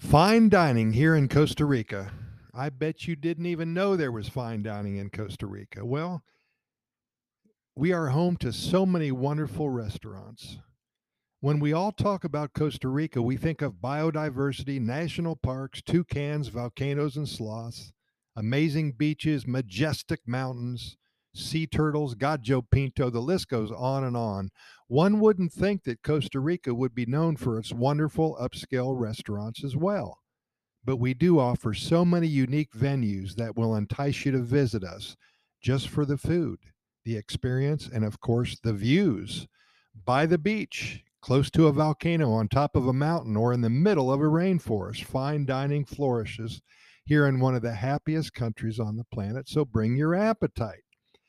Fine dining here in Costa Rica. I bet you didn't even know there was fine dining in Costa Rica. Well, we are home to so many wonderful restaurants. When we all talk about Costa Rica, we think of biodiversity, national parks, toucans, volcanoes, and sloths, amazing beaches, majestic mountains, sea turtles, gallo pinto, the list goes on and on. One wouldn't think that Costa Rica would be known for its wonderful upscale restaurants as well. But we do offer so many unique venues that will entice you to visit us just for the food, the experience, and of course, the views. By the beach, close to a volcano, on top of a mountain, or in the middle of a rainforest, fine dining flourishes here in one of the happiest countries on the planet. So bring your appetite.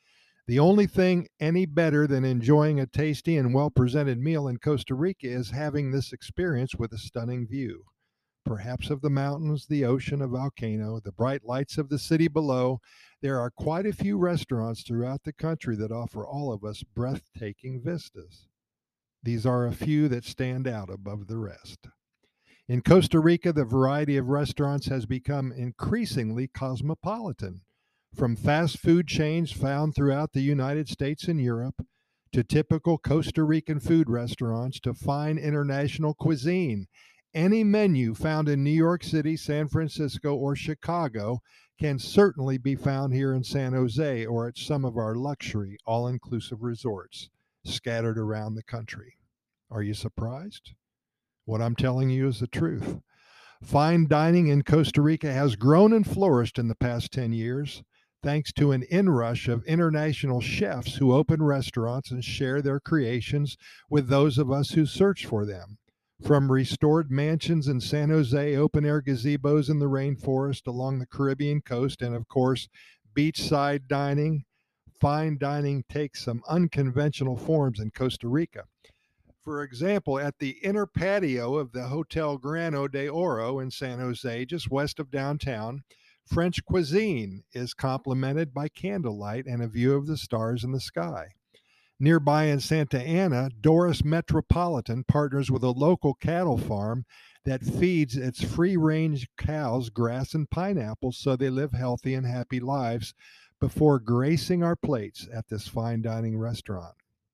The only thing any better than enjoying a tasty and well presented meal in Costa Rica is having this experience with a stunning view, perhaps of the mountains, the ocean, a volcano, the bright lights of the city below. There are quite a few restaurants throughout the country that offer all of us breathtaking vistas. These are a few that stand out above the rest. In Costa Rica, the variety of restaurants has become increasingly cosmopolitan, from fast food chains found throughout the United States and Europe to typical Costa Rican food restaurants to fine international cuisine. Any menu found in New York City, San Francisco, or Chicago can certainly be found here in San Jose or at some of our luxury all inclusive resorts scattered around the country. Are you surprised? What I'm telling you is the truth. Fine dining in Costa Rica has grown and flourished in the past 10 years thanks to an inrush of international chefs who open restaurants and share their creations with those of us who search for them. From restored mansions in San Jose, open air gazebos in the rainforest along the Caribbean coast, and of course, beachside dining, fine dining takes some unconventional forms in Costa Rica. For example, at the inner patio of the Hotel Grano de Oro in San Jose, just west of downtown, French cuisine is complemented by candlelight and a view of the stars in the sky. Nearby in Santa Ana, Doris Metropolitan partners with a local cattle farm that feeds its free range cows grass and pineapples so they live healthy and happy lives before gracing our plates at this fine dining restaurant.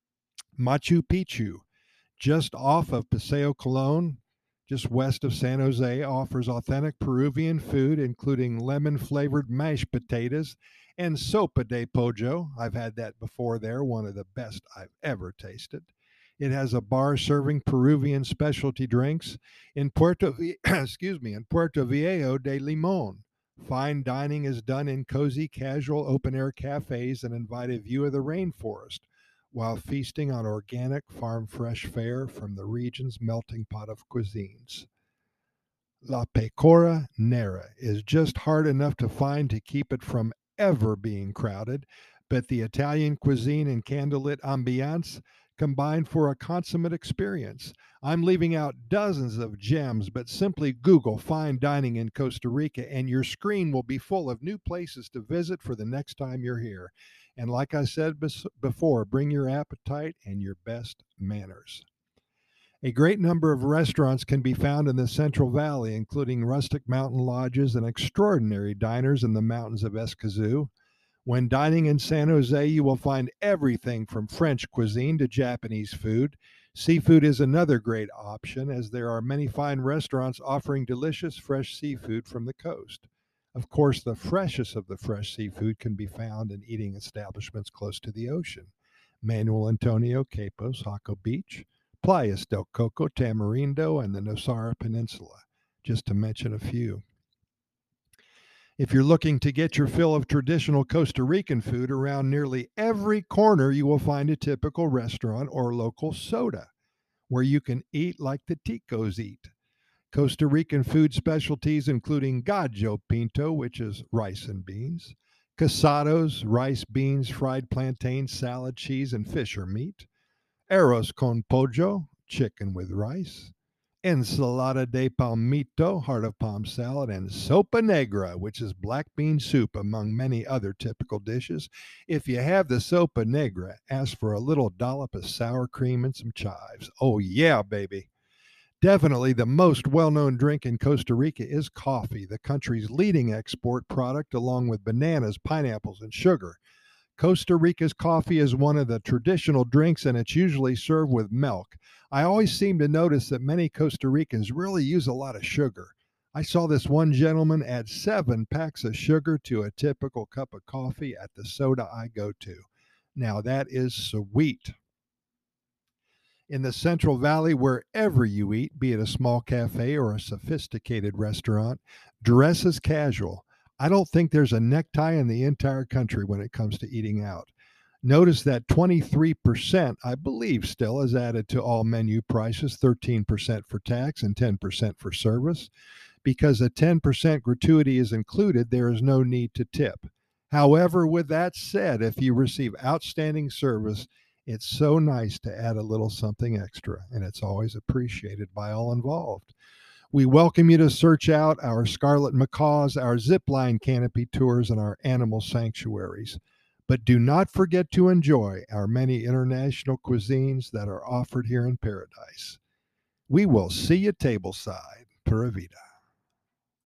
Machu Picchu, just off of Paseo Colon, just west of San Jose, offers authentic Peruvian food, including lemon flavored mashed potatoes and sopa de pollo. I've had that before there, one of the best I've ever tasted. It has a bar serving Peruvian specialty drinks in Puerto Viejo de Limon. Fine dining is done in cozy, casual, open air cafes and invite a view of the rainforest while feasting on organic, farm fresh fare from the region's melting pot of cuisines. La Pecora Nera is just hard enough to find to keep it from ever being crowded, but the Italian cuisine and candlelit ambiance combine for a consummate experience. I'm leaving out dozens of gems, but simply Google fine dining in Costa Rica and your screen will be full of new places to visit for the next time you're here. And like I said before, bring your appetite and your best manners. A great number of restaurants can be found in the Central Valley, including rustic mountain lodges and extraordinary diners in the mountains of Escazú. When dining in San Jose, you will find everything from French cuisine to Japanese food. Seafood is another great option, as there are many fine restaurants offering delicious fresh seafood from the coast. Of course, the freshest of the fresh seafood can be found in eating establishments close to the ocean. Manuel Antonio Capos, Jaco Beach, Playas del Coco, Tamarindo, and the Nosara Peninsula, just to mention a few. If you're looking to get your fill of traditional Costa Rican food, around nearly every corner you will find a typical restaurant or local soda where you can eat like the Ticos eat. Costa Rican food specialties including gallo pinto, which is rice and beans, casados, rice, beans, fried plantains, salad, cheese, and fish or meat, arroz con pollo, chicken with rice, ensalada de palmito, heart of palm salad, and sopa negra, which is black bean soup, among many other typical dishes. If you have the sopa negra, ask for a little dollop of sour cream and some chives. Oh, yeah, baby. Definitely the most well known drink in Costa Rica is coffee, the country's leading export product, along with bananas, pineapples, and sugar. Costa Rica's coffee is one of the traditional drinks, and it's usually served with milk. I always seem to notice that many Costa Ricans really use a lot of sugar. I saw this one gentleman add 7 packs of sugar to a typical cup of coffee at the soda I go to. Now, that is sweet. In the Central Valley, wherever you eat, be it a small cafe or a sophisticated restaurant, dress as casual. I don't think there's a necktie in the entire country when it comes to eating out. Notice that 23%, I believe, still is added to all menu prices, 13% for tax and 10% for service. Because a 10% gratuity is included, there is no need to tip. However, with that said, if you receive outstanding service, it's so nice to add a little something extra, and it's always appreciated by all involved. We welcome you to search out our Scarlet Macaws, our zipline canopy tours, and our animal sanctuaries. But do not forget to enjoy our many international cuisines that are offered here in paradise. We will see you tableside. Pura Vida.